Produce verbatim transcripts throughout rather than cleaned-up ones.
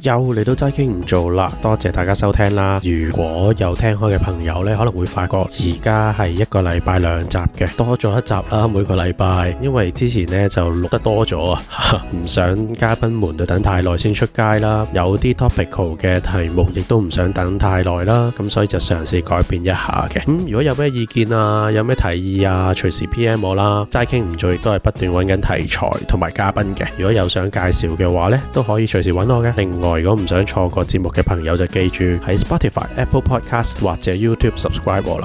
又嚟到齋傾唔做啦，多謝大家收聽啦。如果有聽開嘅朋友呢，可能會發覺而家係一個禮拜兩集嘅，多咗一集啦，每個禮拜。因為之前呢就錄得多咗啊，唔想嘉賓們就等太耐先出街啦，有啲 topical 嘅題目亦都唔想等太耐啦，咁所以就嘗試改變一下嘅。咁、嗯、如果有咩意見啊，有咩提議啊，隨時 P M 我啦。齋傾唔做亦都係不斷揾緊題材同埋嘉賓嘅，如果有想介紹嘅話呢，都可以隨時揾我嘅。另外，如果唔想錯過節目嘅朋友就記住喺 Spotify、Apple Podcast 或者 YouTube subscribe 我啦。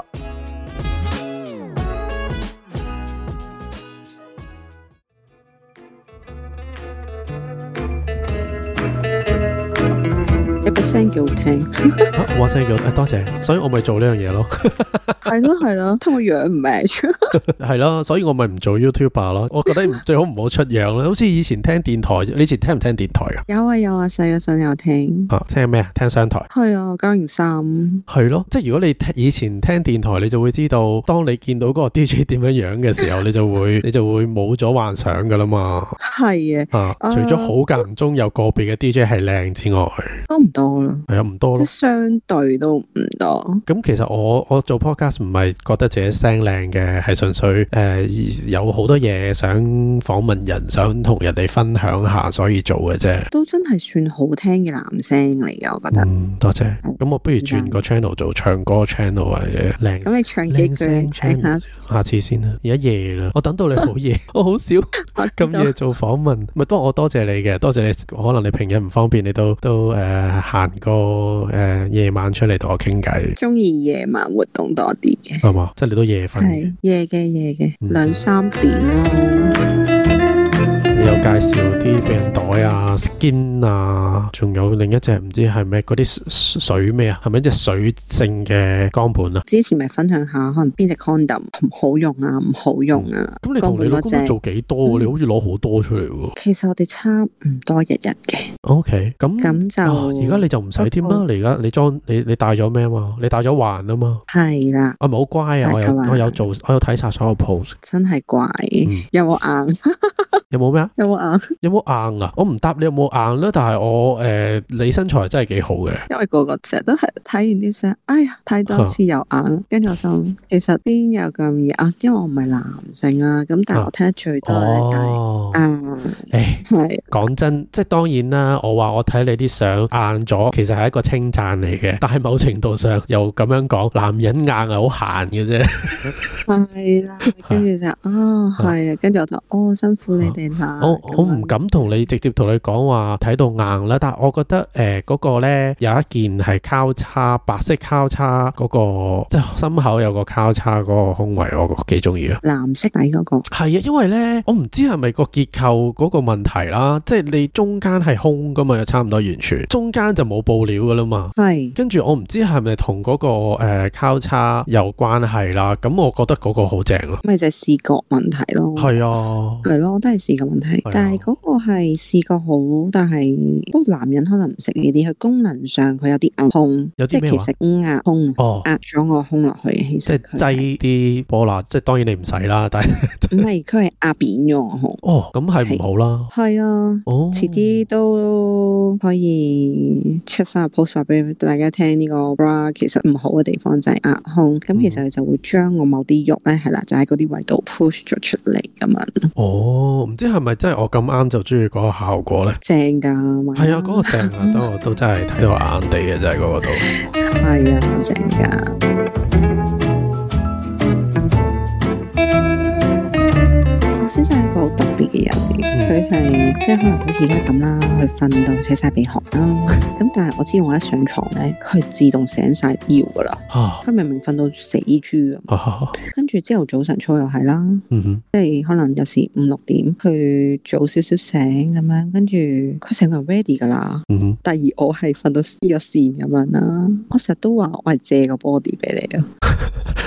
聲幾好聽， 啊、我聲幾好聽，多謝，所以我咪做呢樣嘢咯。 係咯係咯，同我樣唔 match。 係咯，所以我咪唔做 YouTuber 咯。我覺得最好唔好出樣啦。好似以前聽電台，你以前聽唔聽電台啊？ 有啊有啊，細個陣有聽。 啊，聽咩啊？聽商台。 係啊，九零三。係咯，即係如果你以前聽電台，你就會知道，當你見到嗰個 D J 點樣樣嘅時候，你就會你就會冇咗幻想噶啦嘛。係嘅。 啊，除咗好間唔中有個別嘅 D J 係靚之外， 都唔多咯。 係啊，唔多咯。 即相對都唔多。 咁其實我我做 podcast 唔係覺得自己聲靚嘅，係純粹誒、呃、有好多嘢想訪問人，想同人哋分享下，所以做嘅啫。都真係算好聽嘅男聲嚟嘅，我覺得。嗯，多謝。咁我不如轉個 channel 做唱歌 channel 或者靚。咁你唱幾句嚟聽下？下次先啦，而家夜啦，我等到你好夜，我好少咁夜做訪問。咪不過我多謝你嘅，多謝你。可能你平日唔方便，你都都誒行個誒夜晚出嚟同我傾偈。中意夜晚活動多啲嘅，係嘛？即係你都夜瞓。係夜嘅夜嘅，兩三點咯。你有介紹啲避孕袋啊、skin 啊，仲有另一隻唔知係咩嗰啲水咩啊？係咪一隻水性嘅肛盤啊？之前咪分享下，可能邊隻 condom 唔好用啊，唔好用啊。咁、嗯、你同你老公做幾多？嗯、你好似攞好多出嚟喎。其實我哋差唔多日日嘅。O K，咁咁就而家、哦、你就唔使添啦。你而家你裝你你帶咗咩啊嘛？你帶咗環啊嘛？係啦。我咪好乖啊！我有我有做，我有睇晒所有 post。真係乖，嗯、有冇硬？有冇咩啊？有冇硬？有冇硬啊？我唔答你有冇硬啦，但係我誒、呃，你身材真係幾好嘅。因為個個成日都係睇完啲相，哎呀，睇多次又硬，跟住我就其實邊有咁易啊？因為我唔係男性啊，咁但係我聽得最多咧就係硬。誒，係講真，即係當然啦。我話我睇你啲相硬咗，其實係一個稱讚嚟嘅，但係某程度上又咁樣講，男人硬係好閒嘅啫。係啦，跟住就哦，係啊，跟住我就哦，辛苦你。我我唔敢同你直接同你講話睇到硬啦，但係我覺得誒嗰、呃那個咧有一件係交叉白色交叉嗰、那個，即係心口有個交叉嗰個胸圍，我幾中意啊。藍色底嗰、那個係啊，因為咧我唔知係咪個結構嗰個問題啦，即係你中間係空噶嘛，又差唔多完全中間就冇布料噶啦嘛。係跟住我唔知係咪同嗰個誒、呃、交叉有關係啦，咁我覺得嗰個好正咯。咪就係視覺問題咯。係啊，係咯，我都係。視覺問題，但係嗰個係視覺好，但係不過男人可能唔識呢啲，佢功能上佢有啲壓胸，有啲咩話？即係其實壓胸，哦，壓咗個胸落去，其實即係擠啲波啦，即係當然你唔使啦，但係唔係佢係壓扁咗個胸。哦，咁係唔好啦。係啊，哦，遲啲都可以出翻個 post 話俾大家聽，呢個 bra 其實唔好嘅地方就係壓胸，咁、嗯、其實佢就會將我某啲肉咧係啦，就喺嗰啲位度 push 咗出嚟咁樣。哦。唔知係咪真係我咁啱就中意嗰個效果咧？正噶，係啊，嗰、嗰個正啊，都我都真係睇到硬硬地嘅，就係嗰個度。係啊，正噶。我先生係一個好特別嘅人，佢係即係可能好似而家咁啦，去瞓到扯晒鼻鼾啦。咁但係我知道我一上床咧，佢自動醒晒腰噶啦。佢明明瞓到死豬咁，跟住朝頭早晨操又係啦，嗯、即係可能有時五六點去早少少醒咁樣，跟住佢成個人 ready 噶啦。嗯、第二我係瞓到黐個線咁樣啦，我成日都話我係借個 body 俾你啊。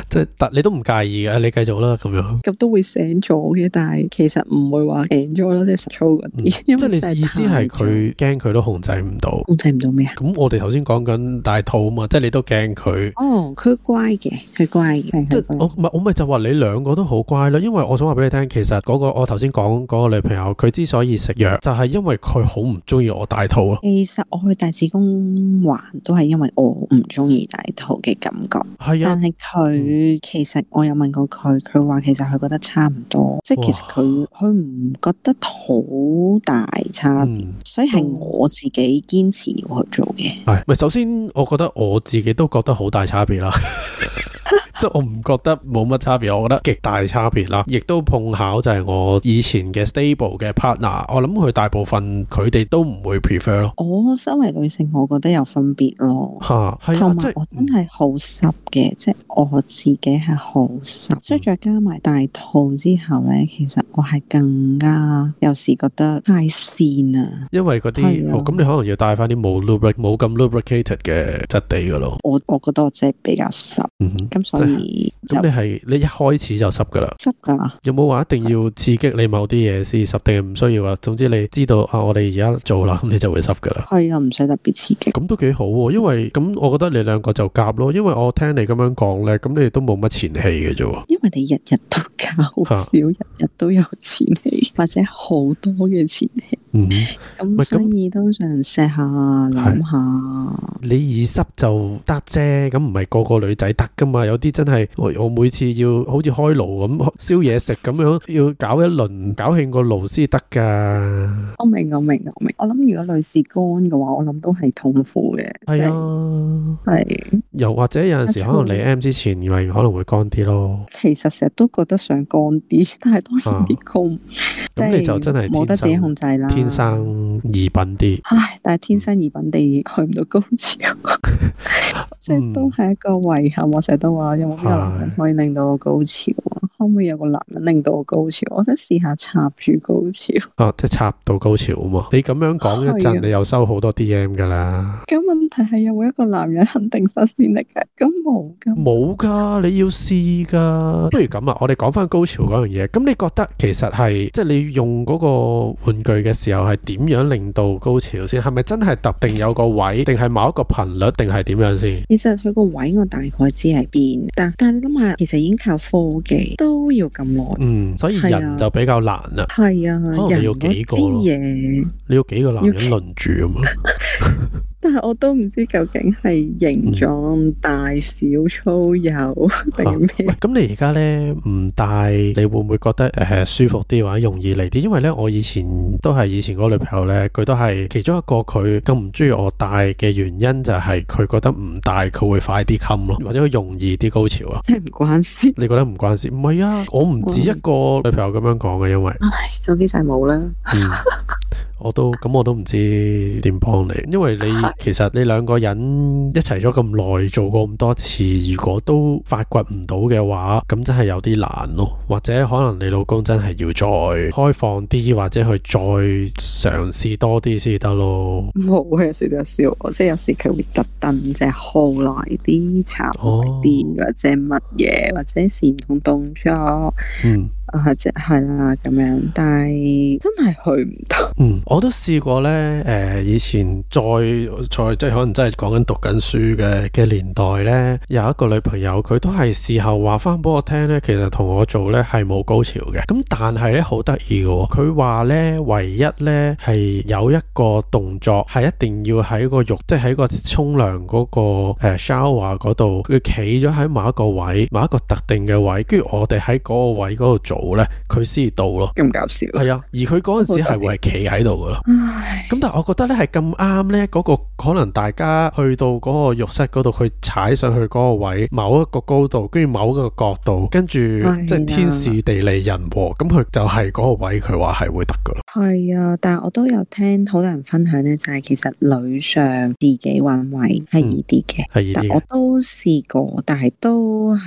即係但你都唔介意嘅，你繼續啦咁樣。 咁都會醒咗嘅，但係其實唔會話醒咗咯，即係實操嗰啲。 即係你意思係佢驚佢都控制唔到， 控制唔到咩啊？ 咁我哋頭先講緊大肚啊嘛，即係你都驚佢。 哦，佢乖嘅，佢乖嘅。 即係我唔係我咪就話你兩個都好乖咯，因為我想話俾你聽，其實嗰個我頭先講嗰個女朋友，佢之所以食藥，就係因為佢好唔中意我大肚咯。 其實我去大子宮環都係因為我唔中意大肚嘅感覺。係啊，但係佢、嗯、其實我有問過佢，佢話其實佢覺得差唔多，即係其實佢佢唔覺得好大差別、嗯，所以係我自己堅持要去做嘅。 係咪？首先我覺得我自己都覺得好大差別啦。即係我唔覺得冇乜差別，我覺得極大差別啦。亦都碰巧就係我以前嘅 stable 嘅 partner， 我諗佢大部分佢哋都唔會 prefer 咯。 我身為女性，我覺得有分別咯。吓，係啊，同埋我真係好濕嘅，即係我自己係好濕，所以再加埋大肚之後咧，其實我係更加有時覺得太跣啊。因為嗰啲，咁、哦、你可能要帶翻啲冇 lubric 冇咁 lubricated 嘅質地噶咯。我我覺得我真係比較濕。嗯咁所以咁你係你一開始就濕噶啦？濕噶。有冇話一定要刺激你某啲嘢先濕，定係唔需要啊？總之你知道啊，我哋而家做啦，咁你就會濕噶啦。係啊，唔使特別刺激。咁都幾好喎，因為咁我覺得你兩個就夾咯，因為我聽你咁樣講咧，咁你哋都冇乜前戲嘅啫。因為你日日都搞，好少日日都有前戲，或者好多嘅前戲。嗯，咁所以都想錫下諗下。你易濕就得啫，咁唔係個個女仔得噶嘛？有啲真係我我每次要好似開爐咁燒嘢食咁樣，要搞一輪搞興個爐先得噶。我明我明我明，我諗如果女士乾嘅話，我諗都係痛苦嘅。係啊，係。又或者有陣時可能嚟 M 之前，咪可能會乾啲咯。其實成日都覺得想乾啲，但係當然啲乾。咁你就真係冇得自己控制啦。天生異稟啲，唉！但係天生異稟地去唔到高潮，即係都係一個遺憾。我成日都話，有冇邊個男人可以令到我高潮啊？可唔可以有個男人令到我高潮？我想試下插住高潮。哦，即係插到高潮啊嘛！你咁樣講一陣，你又收好多 D M 噶啦。咁問題係有冇一個男人肯定新鮮力嘅？咁冇噶，冇噶，你要試噶。不如咁啊，我哋講翻高潮嗰樣嘢。咁你覺得其實係即係你用嗰個玩具嘅時候係點樣令到高潮先？係咪真係特定有個位，定係某一個頻率，定係點樣先？其實佢個位我大概知係邊，但但係你諗下，其實已經靠科技都要咁耐。嗯，所以人就比較難啦。係啊，可能你要幾個咯，你要幾個男人輪住咁啊？但係我都唔知究竟係形狀大小粗幼定咩？咁你而家咧唔戴，你會唔會覺得誒、呃、舒服啲或者容易嚟啲？因為咧我以前都係以前嗰個女朋友咧，佢都係其中一個佢咁唔中意我戴嘅原因就係佢覺得唔戴佢會快啲冚咯，或者佢容易啲高潮啊。即係唔關事？你覺得唔關事？唔係啊，我唔止一個女朋友咁樣講嘅，因為唉，總之就係冇啦。嗯我都咁，我都唔知點幫你，因為你其實你兩個人一齊咗咁耐，做過咁多次，如果都發掘唔到嘅話，咁真係有啲難咯。或者可能你老公真係要再開放啲，或者去再嘗試多啲先得咯。冇，有時都有笑我，即係有時佢會特登即係耗耐啲、插耐啲，或者乜嘢，或者是唔同動作。嗯。啊，即係啦咁樣，但係真係去唔到。嗯，我都試過咧，誒、呃，以前再再即係可能真係講緊讀緊書嘅嘅年代咧，有一個女朋友，佢都係事後話翻俾我聽咧，其實同我做咧係冇高潮嘅。咁但係咧好得意嘅，佢話咧唯一咧係有一個動作係一定要喺個浴，即係喺個沖涼嗰個誒 shower 嗰度，佢企咗喺某一個位，某一個特定嘅位，跟住我哋喺嗰個位嗰度做。咧佢先到咯，咁搞笑。係啊，而佢嗰陣時係會係企喺度噶咯。咁但係我覺得咧係咁啱咧，嗰個可能大家去到嗰個浴室嗰度，去踩上去嗰個位，某一個高度，跟住某一個角度，跟住即係天時地利人和，咁佢就係嗰個位，佢話係會得噶咯。係啊，但係我都有聽好多人分享咧，就係其實女上自己揾位係易啲嘅，係易啲嘅。我都試過，但係都係唔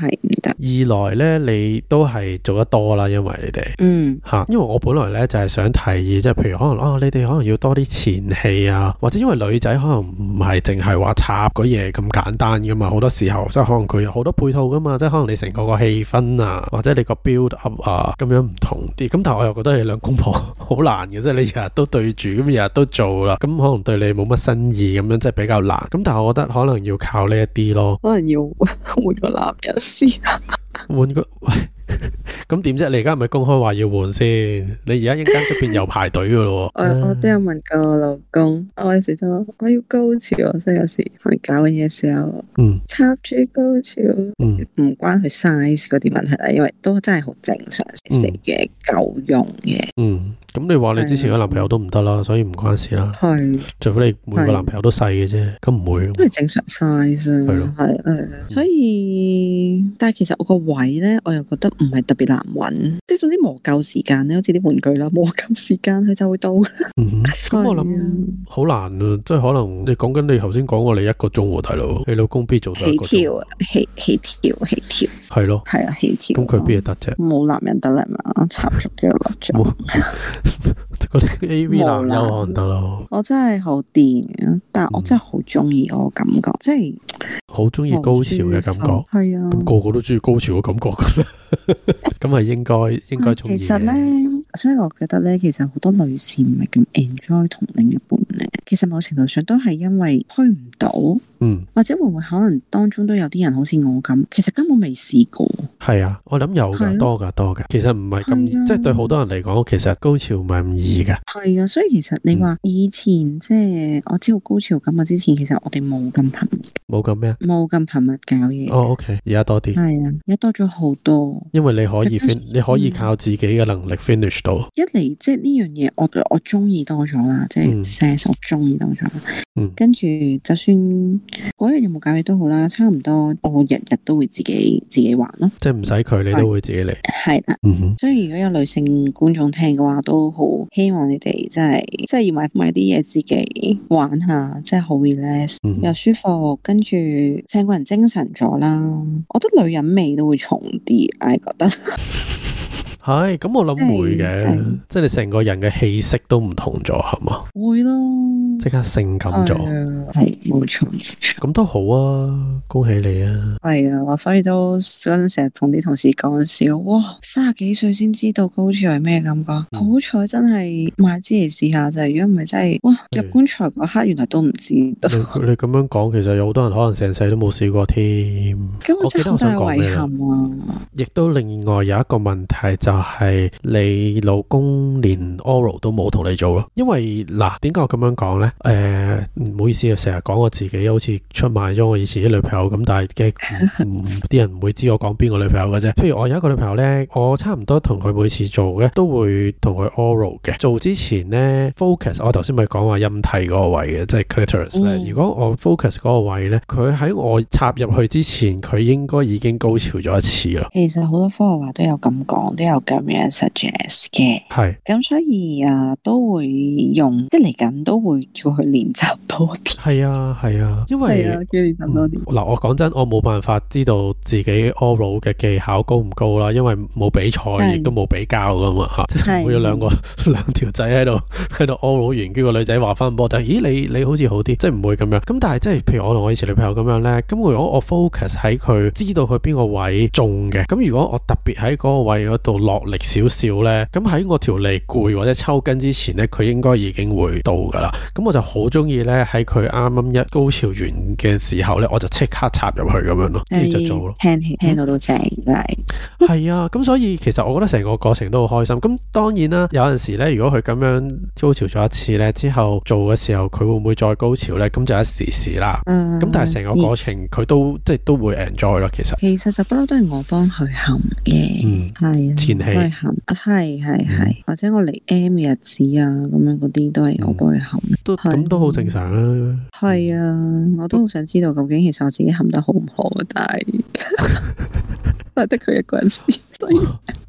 得。 二來咧，你都係做得多啦，因為你哋嗯吓，因為我本來咧就係想提議，即係譬如可能啊，你哋可能要多啲前戲啊，或者因為女仔可能唔係淨係話插嗰嘢咁簡單噶嘛，好多時候即係可能佢有好多配套噶嘛，即係可能你成個個氣氛啊，或者你個 build up 啊，咁樣唔同啲。咁但係我又覺得你兩公婆好難嘅，即係你日日都對住，咁日日都做啦，咁可能對你冇乜新意，咁樣即係比較難。咁但係我覺得可能要靠呢一啲咯， 可能要換個男人先。 換個喂，咁點啫？你而家係咪公開話要換先？你而家一間出邊又排隊噶咯？ 我我都有問過我老公，我有時都我要高潮，所以有時可能搞緊嘢嘅時候，嗯，插住高潮，嗯，唔關佢 size 嗰啲問題啦，因為都真係好正常食嘅夠用嘅，嗯。咁你話你之前個男朋友都唔得啦，所以唔關事啦。係，除非你每個男朋友都細嘅啫，咁唔會。都係正常 size 啊。係咯，係係。所以，但係其實我個位咧，我又覺得唔係特別難揾，即係總之磨夠時間咧，好似啲玩具啦，磨夠時間佢就會到。嗯，咁我諗好難啊，即係可能你講緊你頭先講過你一個鐘喎，大佬，你老公必做到一個鐘。起跳啊，起起跳起跳。係咯。係啊，起跳。咁佢邊得啫？冇男人得啦嘛，插足幾個粒鐘。嗰啲 A V 男優可能得咯，我真係好癲嘅，但係我真係好中意我感覺，即係好中意高潮嘅感覺，係啊，咁個個都中意高潮嘅感覺噶，咁係應該應該中意。其實咧，所以我覺得咧，其實好多女士唔係咁 enjoy 同另一半咧，其實某程度上都係因為去唔到，嗯，或者會唔會可能當中都有啲人好似我咁，其實根本未試過。係啊，我諗有噶，多噶多噶，其實唔係咁，即係對好多人嚟講，其實高潮唔係咁易噶。係啊，所以其實你話以前、嗯、即係我知道高潮感啊之前，其實我哋冇咁頻密，冇咁咩啊，冇咁頻密搞嘢。哦，OK，而家多啲。係啊，而家多咗好多。因為你可以 fin，你可以靠自己嘅能力 finish 到。一嚟即係呢樣嘢，我我中意多咗啦，即係 sex 我中意多咗。嗯。跟住就算嗰日有冇搞嘢都好啦，差唔多我日日都會自己自己玩咯。即係唔使佢，你都會自己嚟。係啦。嗯哼。所以如果有女性觀眾聽嘅話，都好希望你哋真係，真係要買買啲嘢自己玩下，真係好 relax，嗯、又舒服，跟住成個人精神咗啦。我覺得女人味都會重啲，我覺得。係，咁我諗會嘅，即係你成個人嘅氣息都唔同咗，係嘛？會咯，即刻性感咗，係冇錯。咁都好啊，恭喜你啊！係啊，所以都嗰陣成日同啲同事講笑，哇，三十幾歲先知道高潮係咩感覺，嗯、好彩真係買支嚟試下啫，如果唔係真係，哇，入棺材嗰刻原來都唔知道。你你咁樣講，其實有好多人可能成世都冇試過添。咁我記得我想講咩啊？亦都另外有一個問題就。就係你老公連 oral 都冇同你做咯，因為嗱，點解我咁樣講呢？誒、呃，唔好意思啊，成日講我自己好似出賣咗我以前啲女朋友咁，但係嘅啲人唔會知我講邊個女朋友嘅啫。譬如我有一個女朋友呢，我差唔多同佢每次做嘅都會同佢 oral 嘅。做之前呢 focus， 我頭先咪講話陰蒂嗰個位嘅，即係 clitoris 咧。如果我 focus 嗰個位呢，佢喺我插入去之前，佢應該已經高潮咗一次啦。其實好多科學話都有咁講，都有咁樣 suggest 嘅，係咁所以啊都會用，即係嚟緊都會叫佢練習多啲。係啊係啊，因為係啊，叫練習多啲。嗱、嗯，我講真，我冇辦法知道自己 oral 嘅技巧高唔高啦，因為冇比賽，亦都冇比較噶嘛吓，即係會有兩個兩條仔喺度喺度 oral 完，跟住個女仔話翻波，但係咦你你好似好啲，即係唔會咁樣。咁但係即係譬如我同我以前女朋友咁樣咧，咁如果我 focus 喺佢，知道佢邊個位中嘅，咁如果我特別喺嗰個位嗰度落力少少咧，咁喺我條脷攰或者抽筋之前咧，佢應該已經會到噶啦。咁我就好中意咧喺佢啱啱一高潮完嘅時候咧，我就即刻插入去咁樣咯，跟住就做咯。聽聽到都正，真係。係啊，咁所以其實我覺得成個過程都好開心。咁當然啦，有陣時咧，如果佢咁樣高潮咗一次咧，之後做嘅時候佢會唔會再高潮咧？咁就一時時啦。嗯。咁但係成個過程佢都即係都會 enjoy 咯。其實其實就不嬲都係我幫佢含嘅。嗯，係啊，前戲含，係係係，或者我嚟 M 嘅日子啊，咁樣嗰啲都係我幫佢含。都咁都好正常啊。係啊，我都好想知道究竟其實我自己含得好唔好，但係都係得佢一個人試，所以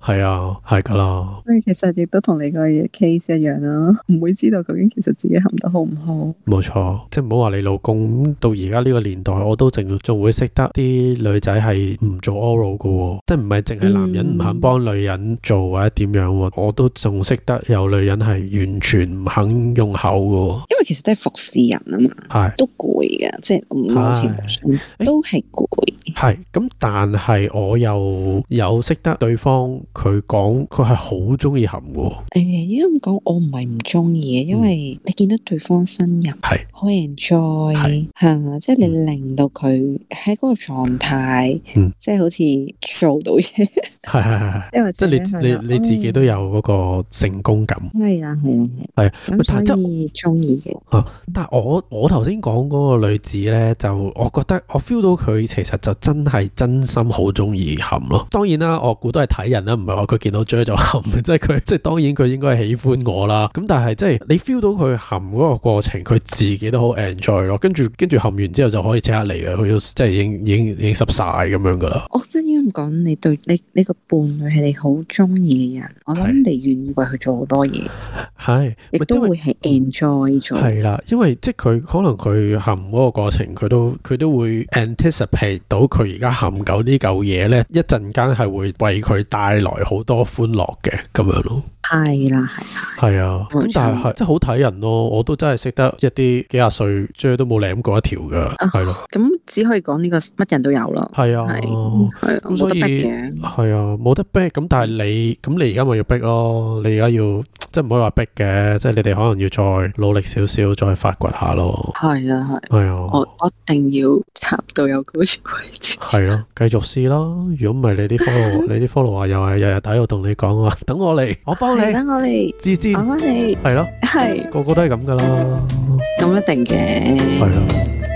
係啊，係噶啦。 所以其實亦都同你個 case 一樣啦，唔會知道究竟其實自己含得好唔好。 冇錯，即係唔好話你老公到而家呢個年代，我都仲仲會識得啲女仔係唔做 oral 噶，即係唔係淨係男人唔肯幫女人做或者點樣，我都仲識得有女人係完全唔肯用口噶。 因為其實都係服侍人啊嘛，係都攰嘅，即係某程度上都係攰。 係咁，但係我又有識得對方，佢講佢係好中意含嘅。誒、欸，應該咁講，我唔係唔中意嘅，因為你見到對方呻吟，係好 enjoy，係即係你令到佢喺嗰個狀態，嗯，即係好似做到嘢，係係係，因為即係你你你自己都有嗰個成功感，係啊係啊係，係咁所以中意嘅。啊，但係我我頭先講嗰個女子咧，就我覺得我 feel 到佢其實就真係真心好中意含咯。當然啦，我估都係睇人啦，唔係話佢見到 J 就含，即係佢即係當然佢應該係喜歡我啦。咁但係即係你 feel 到佢含嗰個過程，佢自己都好 enjoy 咯。跟住跟住含完之後就可以即刻嚟嘅，佢都即係已經已經已經濕晒咁樣噶啦。我覺得應該咁講，你對你呢個伴侶係你好中意嘅人，我諗你願意為佢做好多嘢，係亦都會係 enjoy 咗。係啦，因為即係佢可能佢含嗰個過程，佢都佢都會 anticipate 到佢而家含夠呢嚿嘢咧，一陣間係會為佢帶來好多歡樂嘅咁樣咯。係啦，係啦，係啊。咁但係係即係好睇人咯。我都真係識得一啲幾廿歲，即係都冇舐過一條噶，係咯。咁只可以講呢個乜人都有咯。係啊，係咁冇得逼嘅。係啊，冇得逼。咁但係你咁你而家咪要逼咯？你而家要。即係唔可以話逼嘅，即係你哋可能要再努力少少，再發掘下咯。係啊，係。係啊，我我一定要插到有高潮位置。係咯，繼續試咯。如果唔係，你啲 follow，你啲 follow 話又係日日喺度同你講話，等我嚟，我幫你，等我嚟，知知，我幫你。係咯，係，個個都係咁噶啦。咁一定嘅。係咯。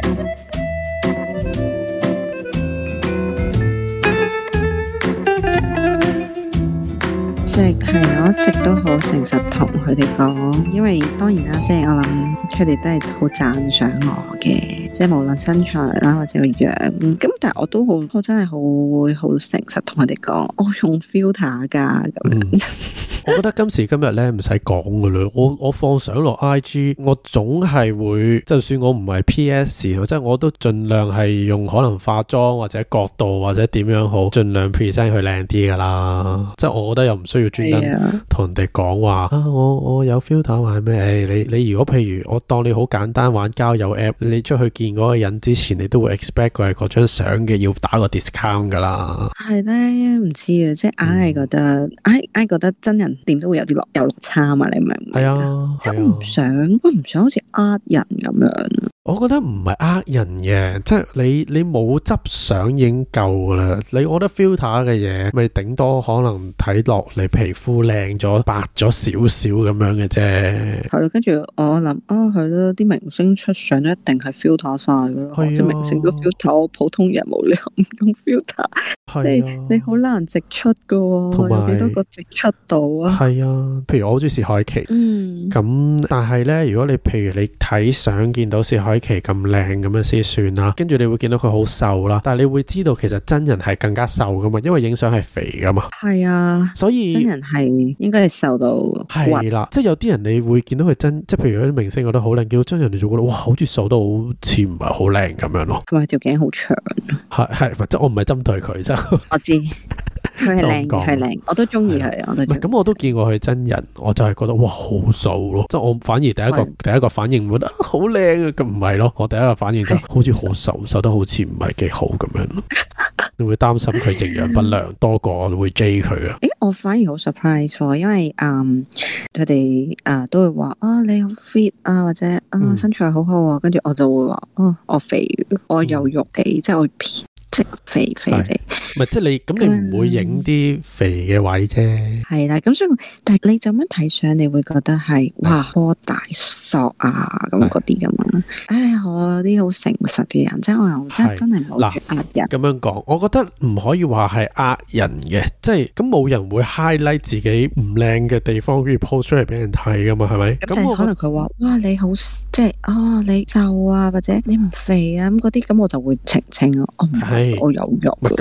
即係我一直都好誠實同佢哋講，因為當然啦，即係我諗佢哋都係好讚賞我嘅，即係無論身材啦或者個樣，咁但係我都好，我真係好會好誠實同佢哋講，我用 filter 噶咁樣。嗯我覺得今時今日咧唔使講噶啦，我我放相落 I G， 我總係會，就算我唔係 P S， 即係我都盡量係用可能化妝或者角度或者點樣好，盡量 present 佢靚啲噶啦。即係我覺得又唔需要專登同人哋講話啊，我我有 filter 話係咩？誒，你你如果譬如我當你好簡單玩交友 app， 你出去見嗰個人之前，你都會 expect 佢係嗰張相嘅要打個 discount 噶啦。係咧，唔知啊，即係硬係覺得，硬硬覺得真人。點都會有啲落有落差嘛，你明唔明？係啊，即係唔想，我唔想好似呃人咁樣。我覺得唔係呃人嘅，即係你你冇執相已經夠噶啦。你我覺得 filter 嘅嘢，咪頂多可能睇落你皮膚靚咗、白咗少少咁樣嘅啫。係咯，跟住我諗啊，係咯，啲明星出相都一定係 filter 晒噶咯，即係明星都 filter，普通人冇理由唔用 filter。係啊，你你好難直出噶，有幾多個直出到啊？係啊，譬如我好中意薛凱琪，嗯，咁但係咧，如果你譬如你睇相見到薛凱琪咁靚咁樣先算啦，跟住你會見到佢好瘦啦，但係你會知道其實真人係更加瘦噶嘛，因為影相係肥噶嘛。係啊，所以真人係應該係瘦到係啦，即係有啲人你會見到佢真，即係譬如有啲明星覺得好靚，見到真人你就覺得哇，好似瘦得好似唔係好靚咁樣咯。同埋條頸好長，係係，即係我唔係針對佢啫。我知佢係靚，佢係靚，我都中意佢，我都唔係咁，我都見過佢真人，我就係覺得哇好瘦咯，即係我反而第一個第一個反應覺得好靚啊，咁唔係咯，我第一個反應就好似好瘦，瘦得好似唔係幾好咁樣咯。你會擔心佢營養不良多過會追佢啊？誒，我反而好 surprise，因為嗯佢哋啊都會話啊你好 fit 啊，或者啊身材好好啊，跟住我就會話哦我肥，我有肉嘅，即係我偏即肥肥地。唔係，即係你咁，你唔會影啲肥嘅位啫。係啦，咁所以，但係你就咁睇相，你會覺得係哇，波大索啊，咁嗰啲咁啊。唉，我有啲好誠實嘅人，即係我又真真係冇呃人。咁樣講，我覺得唔可以話係呃人嘅，即係咁冇人會 highlight 自己唔靚嘅地方，跟住 post 出嚟俾人睇噶嘛，係咪？咁可能佢話哇，你好即係哦，你瘦啊，或者你唔肥啊，咁嗰啲咁我就會澄清咯。我唔係，我有肉。咁誒唔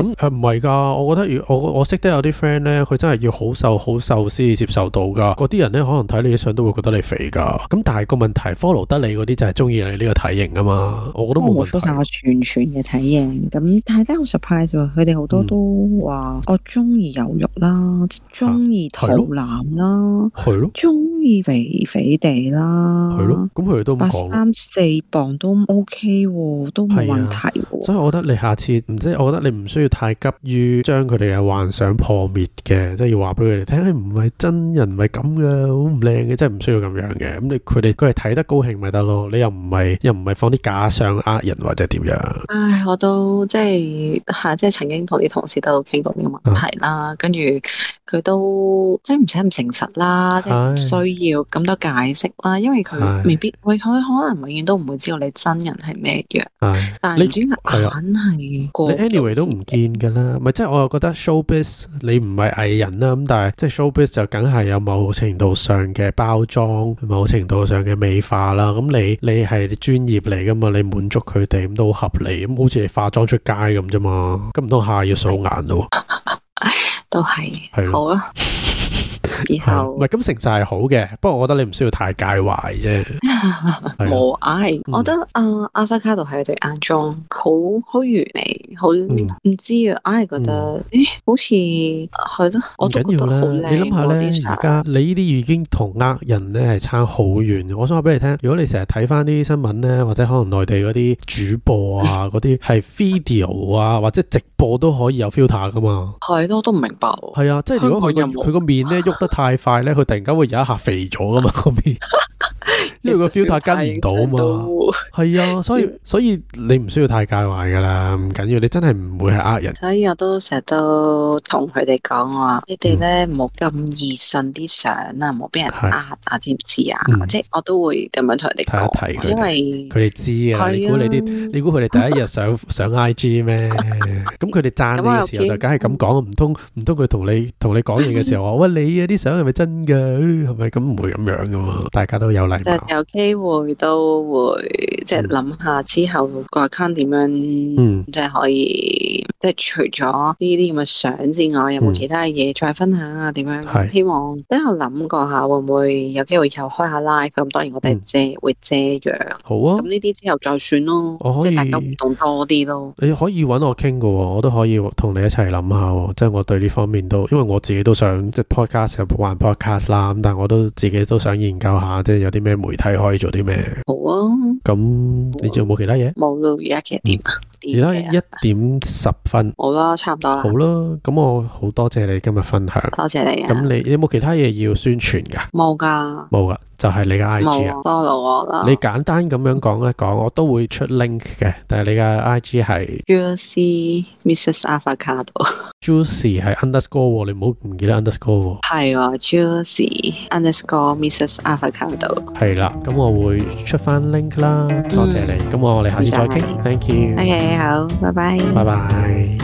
係㗎，我覺得如我我識得有啲 friend 咧，佢真係要好瘦好瘦先至接受到㗎。嗰啲人咧可能睇你啲相都會覺得你肥㗎。咁但係個問題 follow 得你嗰啲就係中意你呢個體型啊嘛。我覺得冇問題。 我冇晒我全全嘅體型，咁但係真係好 surprise 喎。佢哋好多都話我中意有肉啦，中意肚腩啦，係咯，中意肥肥地啦， 係咯。咁佢哋都咁講， 三四磅都 OK 喎，都冇問題喎。 所以我覺得你下次唔即係，我覺得你唔需要太急於將佢哋嘅幻想破滅嘅，即係要話俾佢哋聽，唔係真人，唔係咁嘅，好唔靚嘅，即係唔需要咁樣嘅。咁你佢哋佢哋睇得高興咪得咯？你又唔係又唔係放啲假相呃人或者點樣？ 唉，我都即係吓，即係曾經同啲同事都傾過呢個問題啦，啊、跟住佢都即係唔使咁誠實啦，即係唔需要咁多解釋啦，因為佢未必，喂，佢可能永遠都唔會知道你真人係咩樣。但係你眼係過， 你 anyway 都唔見噶啦，咪即係我又覺得 showbiz 你唔係藝人啦，咁但係即係 showbiz 就梗係有某程度上嘅包裝，某程度上嘅美化啦。咁你你係專業嚟噶嘛，你滿足佢哋咁都好合理，咁好似你化妝出街咁啫嘛，咁唔通下要素顏咯？ 都係係好啊。以後唔係咁，誠實係好嘅，不過我覺得你唔需要太介懷啫。 冇唉，我覺得啊，Avocado 喺佢哋眼中好好完美，好唔、嗯、知啊，我係覺得，誒、嗯，好似係咯，我都覺得好靚。 你諗下咧，而家你呢啲已經同呃人咧係差好遠。我想話俾你聽，如果你成日睇翻啲新聞咧，或者可能內地嗰啲主播啊，嗰啲係 video 啊，或者直播都可以有 filter 噶嘛？係咯，我都唔明白。 係啊，即係如果佢個佢個面咧喐得太快咧，佢突然間會有一下肥咗噶嘛，嗰邊。因為個 filter 跟唔到嘛，係啊，所以所以你唔需要太介懷噶啦，唔緊要，你真係唔會係呃人。 所以我都成日都同佢哋講話，你哋咧唔好咁易信啲相啊，唔好俾人呃啊，知唔知啊？嗯、即係我都會咁樣同佢哋講，提一提因為佢哋知啊。你估你啲，你估佢哋第一日上上 I G 咩？咁佢哋讚你嘅時候就梗係咁講，唔通唔通佢同你同你講嘢嘅時候話，喂，你啊啲相係咪真噶？係咪咁？唔會咁樣噶嘛？大家都有禮貌。 有機會都會即係諗下之後個 account 點樣，嗯、即係可以即係除咗呢啲咁嘅相之外，有冇其他嘢再分享啊？點樣？嗯、希望都有諗過下會唔會有機會又開下 live？咁當然我哋遮、嗯、會遮樣。好啊。咁呢啲之後再算咯，即係大家互動多啲咯。你可以揾我傾㗎，我都可以同你一齊諗下。即係我對呢方面都，因為我自己都想即係 podcast 有玩 podcast 啦。咁但係我都自己都想研究下，即係有啲咩媒體可以做啲咩？好啊。咁你仲有冇其他嘢？冇咯，而家幾點啊？而家一點十分。好啦，差唔多啦。好啦，咁我好多謝你今日分享。多謝你啊。咁你有冇其他嘢要宣傳噶？冇噶。冇噶，就係你嘅 I G 啊。follow我啦。你簡單咁樣講一講，我都會出 link 嘅。但係你嘅 I G 係 Juicy Missus Avocado。Juicy 係 underscore，你唔好唔記得 underscore。係喎 ，Juicy underscore Missus Avocado。係啦，咁我會出翻 link 啦。多謝你。咁我哋下次再傾。Thank you。OK。好，拜拜。拜拜。